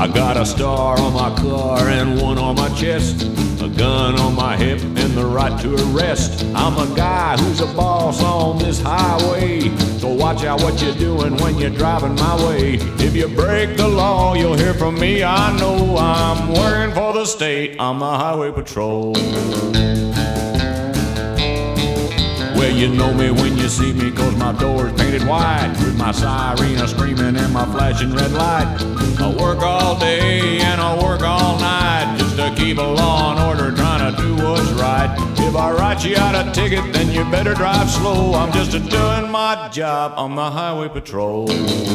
I got a star on my car and one on my chest, a gun on my hip and the right to arrest. I'm a guy who's a boss on this highway, so watch out what you're doing when you're driving my way. If you break the law, you'll hear from me. I know I'm working for the state. I'm the highway patrol. Well, you know me when you see me, 'cause my door's painted white, with my siren screaming and my flashing red light. I work all day and I work all night just to keep a law and order, trying to do what's right. If I write you out a ticket, then you better drive slow. I'm just doing my job on the highway patrol.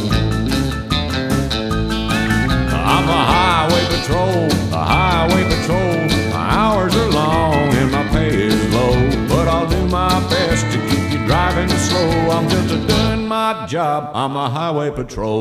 I'm the highway patrol, the highway patrol. My hours are long and my pay is low, but I'll do my best to keep you driving slow. I'm just doing my job, I'm the highway patrol.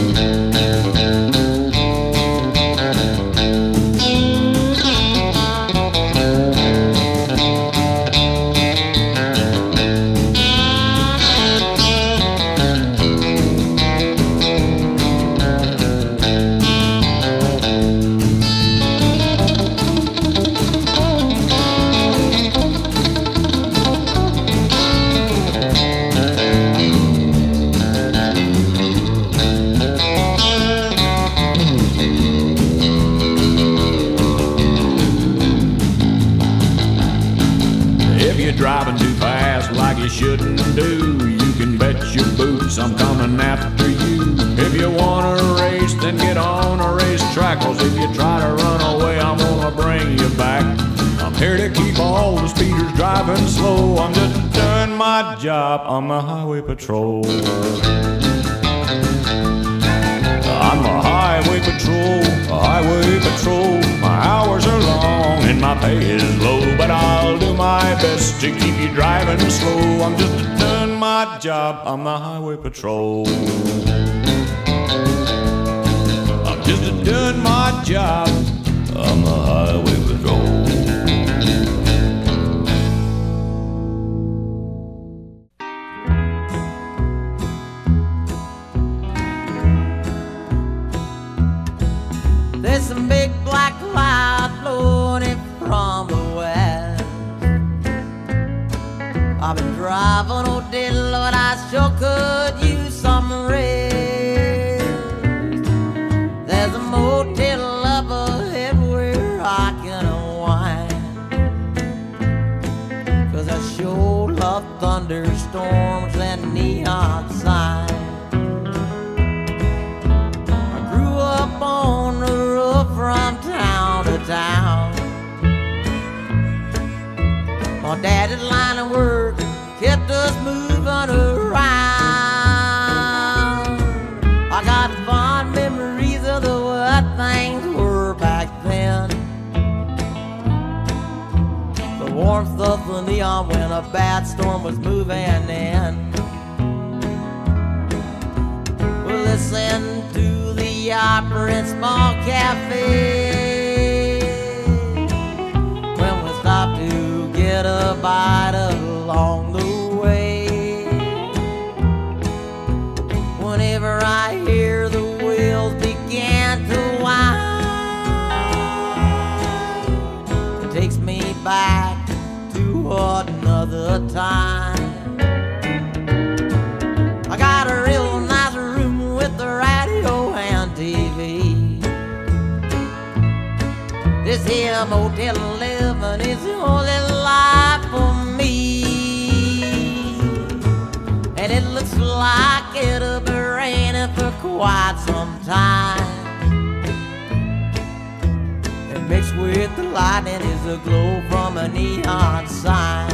Driving too fast like you shouldn't do, you can bet your boots I'm coming after you. If you want to race, then get on a racetrack, 'cause if you try to run away, I'm gonna bring you back. I'm here to keep all the speeders driving slow. I'm just doing my job on the highway patrol. I'm a highway patrol, a highway patrol. My hours are long and my pay is low, but I'll do my best to keep you driving slow. I'm just doing my job, I'm the highway patrol. I'm just doing my job, I'm the highway patrol. There's some big black cloud floating from the west. I've been driving all day, Lord, I sure could use some rest. There's a motel up ahead where I can unwind, 'cause I sure love thunderstorms and neon signs. I grew up on the road from town to town. My daddy's line of work kept us moving around. I got fond memories of the way things were back then. The warmth of the neon when a bad storm was moving in. We'll listen to the opera in small cafe when we stop to get a bite along the way. Whenever I hear the wheels begin to whine, it takes me back to another time. I got a real nice room with the radio and TV. This here motel living is the only life for me, and it looks like it'll be raining for quite some time. And mixed with the lightning is a glow from a neon sign.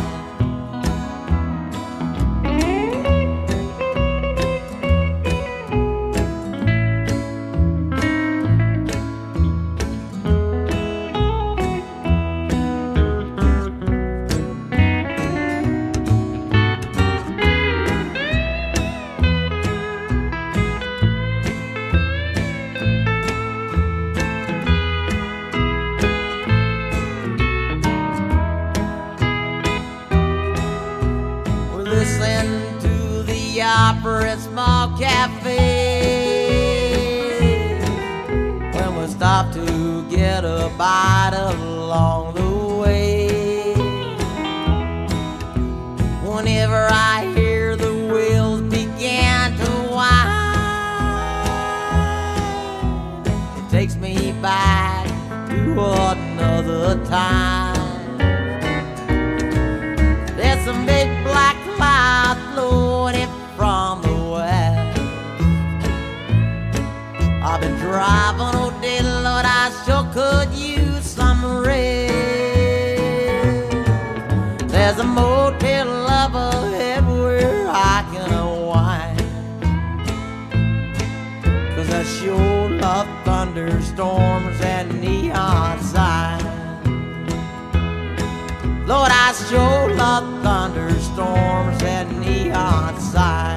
Opera at small cafe when we enough to get a bite along the way. Whenever I hear the wheels begin to whine, it takes me back to another time. There's some big black clouds blowing in from the west. I've been driving all day, Lord, I sure could use some rest. There's a motel up ahead where I can unwind, 'cause I sure love thunderstorms and neon signs. Lord, I sure love thunderstorms and neon signs.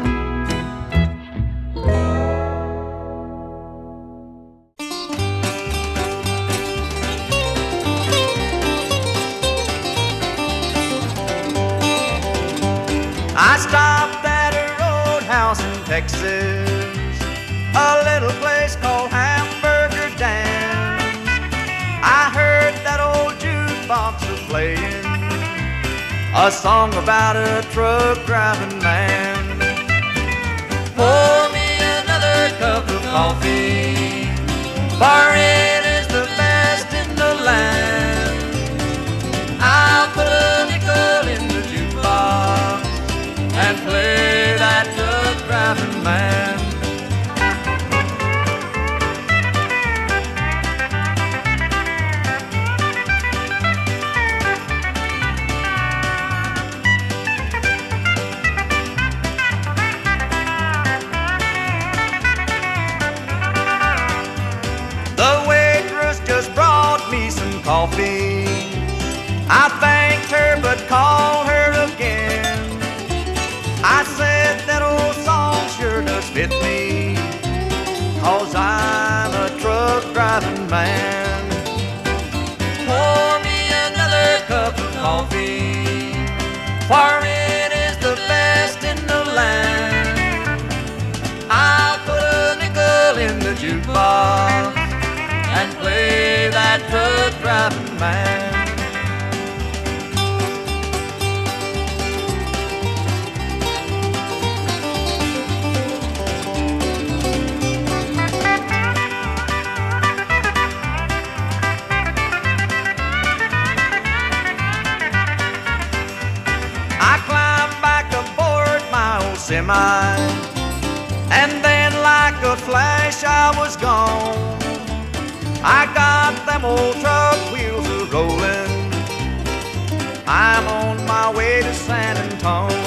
I stopped at a roadhouse in Texas, a little place called Hamburger Dan. I heard that old jukebox was playing a song about a truck driving man. Pour me another cup of coffee, for it is the best in the land. I'll put a nickel in the jukebox and play that truck driving man. The waitress just brought me some coffee. I thanked her but called her again. I said that old song sure does fit me, 'cause I'm a truck driving man. Pour me another cup of coffee, for it is the best in the land. I'll put a nickel in the jukebox and play that truck driving man. I climbed back aboard my old semi, and then like a flash I was gone. I got them old truck wheels a-rolling, I'm on my way to San Antone.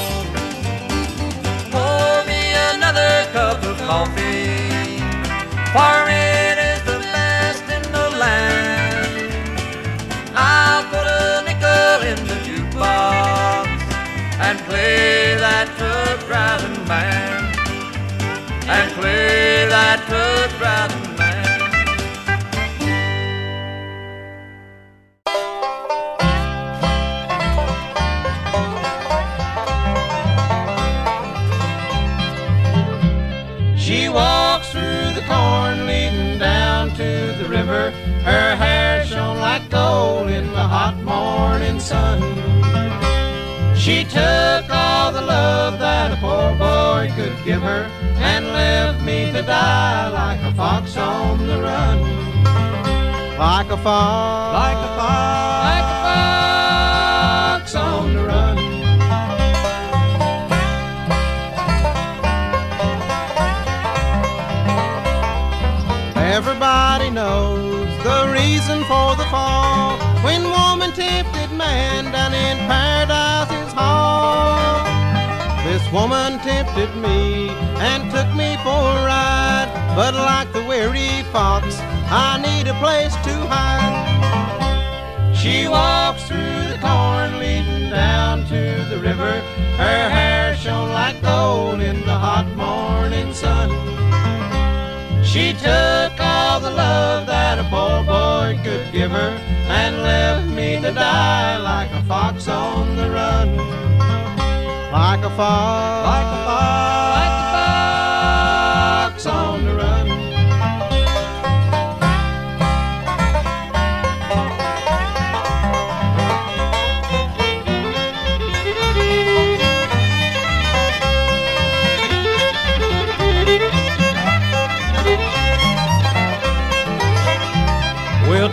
Pour me another cup of coffee, for it is the best in the land. I'll put a nickel in the jukebox and play that truck driving man, and play that truck driving man. She walks through the corn leading down to the river. Her hair shone like gold in the hot morning sun. She took all the love that a poor boy could give her and left me to die like a fox on the run. Like a fox, like a fox, like a fox on the run. Everybody knows the reason for the fall, when woman tempted man down in Paradise's hall. This woman tempted me and took me for a ride, but like the weary fox, I need a place to hide. She walks through the corn leading down to the river. Her hair shone like gold in the hot morning sun. She took all the love that a poor boy could give her and left me to die like a fox on the run. Like a fox, like a fox, like a fox on the run.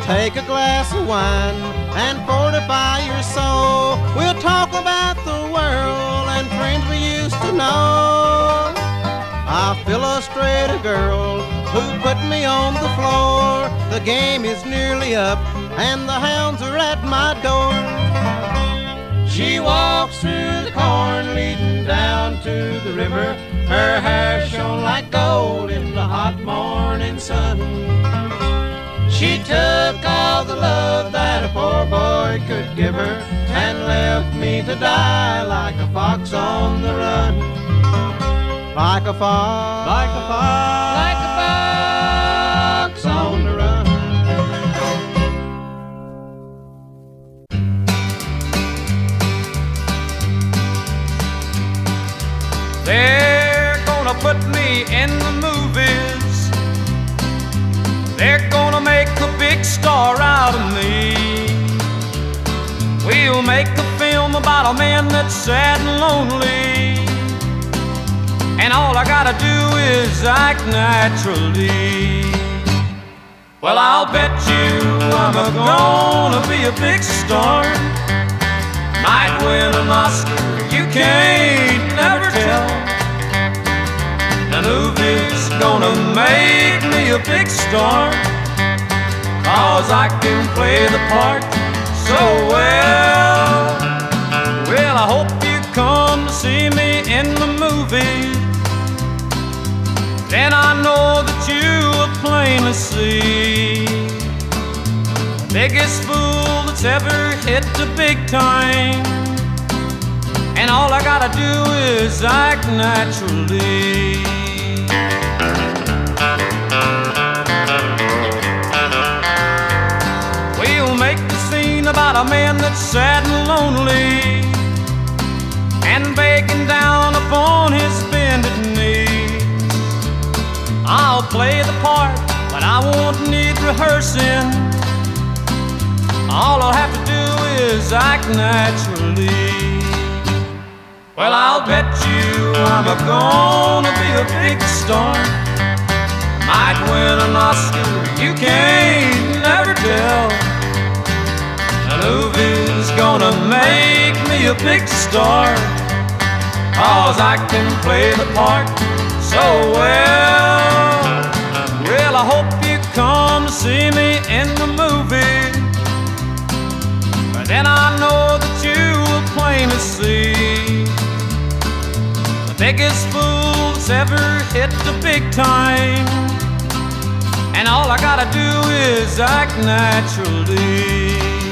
Take a glass of wine and fortify your soul. We'll talk about the world and friends we used to know. I'll illustrate a girl who put me on the floor. The game is nearly up and the hounds are at my door. She walks through the corn leading down to the river. Her hair shone like gold in the hot morning sun. She took all the love that a poor boy could give her and left me to die like a fox on the run. Like a fox, like a fox, like a fox on the run. They're gonna put me in the movies. They're gonna make a big star out of me. We'll make a film about a man that's sad and lonely, and all I gotta do is act naturally. Well, I'll bet you I'm gonna be a big star. Might win an Oscar, you can't never tell. The movie's gonna make me a big star, 'cause I can play the part so well. Well, I hope you come to see me in the movie. Then I know that you will plainly see the biggest fool that's ever hit the big time, and all I gotta do is act naturally. We'll make the scene about a man that's sad and lonely and begging down upon his bended knees. I'll play the part, but I won't need rehearsing. All I'll have to do is act naturally. Well, I'll bet you I'm gonna be a big star. Might win an Oscar, you can't never tell. The movie's gonna make me a big star, 'cause I can play the part so well. Well, I hope you come to see me in the movie. But then I know that you will plainly see the biggest fool that's ever hit the big time, and all I gotta do is act naturally.